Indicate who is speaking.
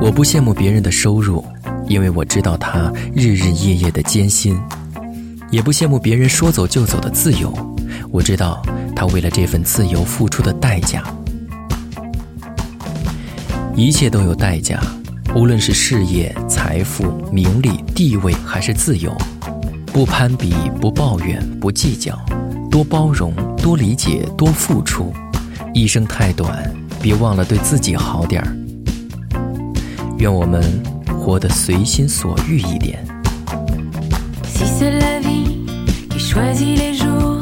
Speaker 1: 我不羡慕别人的收入，因为我知道他日日夜夜的艰辛；也不羡慕别人说走就走的自由，我知道他为了这份自由付出的代价。一切都有代价，无论是事业、财富、名利、地位还是自由。不攀比，不抱怨，不计较，多包容，多理解，多付出。一生太短，别忘了对自己好点儿。愿我们活得随心所欲一点。
Speaker 2: Si c'est la vie qui choisit les jours